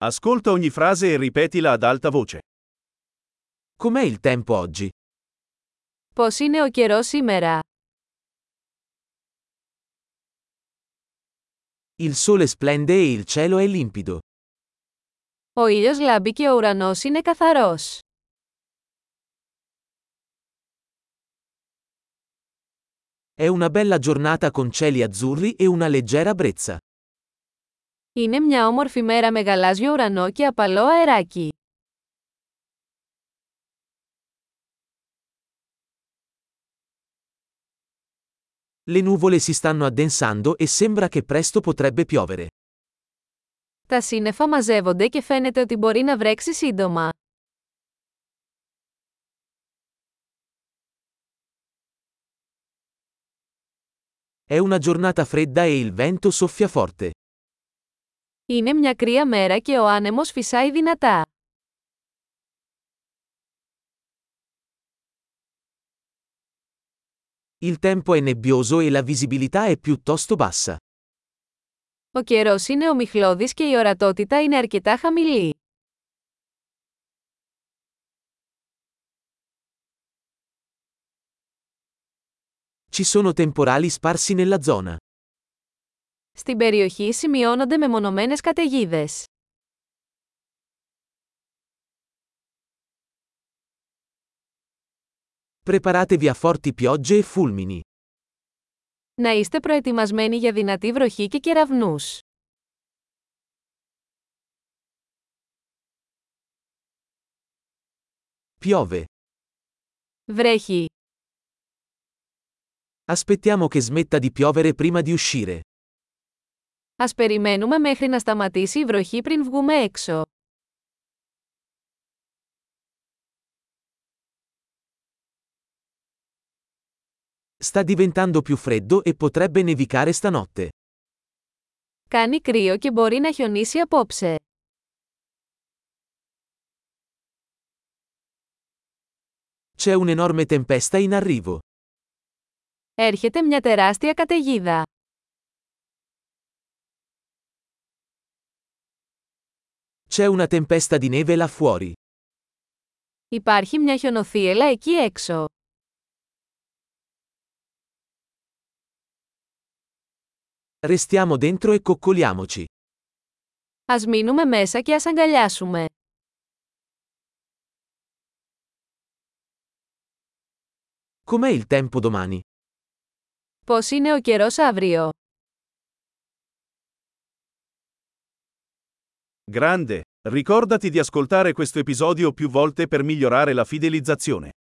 Ascolta ogni frase e ripetila ad alta voce. Com'è il tempo oggi? Πώς είναι ο καιρός σήμερα? Il sole splende e il cielo è limpido. Ο ήλιος λάμπει και ο ουρανός είναι καθαρός. È una bella giornata con cieli azzurri e una leggera brezza. Είναι μια όμορφη μέρα με γαλάζιο ουρανό και απαλό αεράκι. Le nuvole si stanno addensando e sembra che presto potrebbe piovere. Τα σύννεφα μαζεύονται και φαίνεται ότι μπορεί να βρέξει σύντομα. È una giornata fredda e il vento soffia forte. Είναι μια κρύα μέρα και ο άνεμος φυσάει δυνατά. Il tempo è nebbioso e la visibilità è piuttosto bassa. Ο καιρός είναι ομιχλώδης και η ορατότητα είναι αρκετά χαμηλή. Ci sono temporali sparsi nella zona. Στην περιοχή σημειώνονται μεμονωμένες καταιγίδες. Preparatevi a forti piogge e fulmini. Να είστε προετοιμασμένοι για δυνατή βροχή και κεραυνούς. Piove. Βρέχει. Aspettiamo che smetta di piovere prima di uscire. Ας περιμένουμε μέχρι να σταματήσει η βροχή πριν βγούμε έξω. Sta diventando più freddo e potrebbe nevicare stanotte. Κάνει κρύο και μπορεί να χιονίσει απόψε. C'è un'enorme tempesta in arrivo. Έρχεται μια τεράστια καταιγίδα. C'è una tempesta di neve là fuori. Υπάρχει μια χιονοθύελλα εκεί έξω. Restiamo dentro e coccoliamoci. Ας μείνουμε μέσα και ας αγκαλιάσουμε. Com'è il tempo domani? Πώς είναι ο καιρός αύριο? Grande! Ricordati di ascoltare questo episodio più volte per migliorare la fidelizzazione.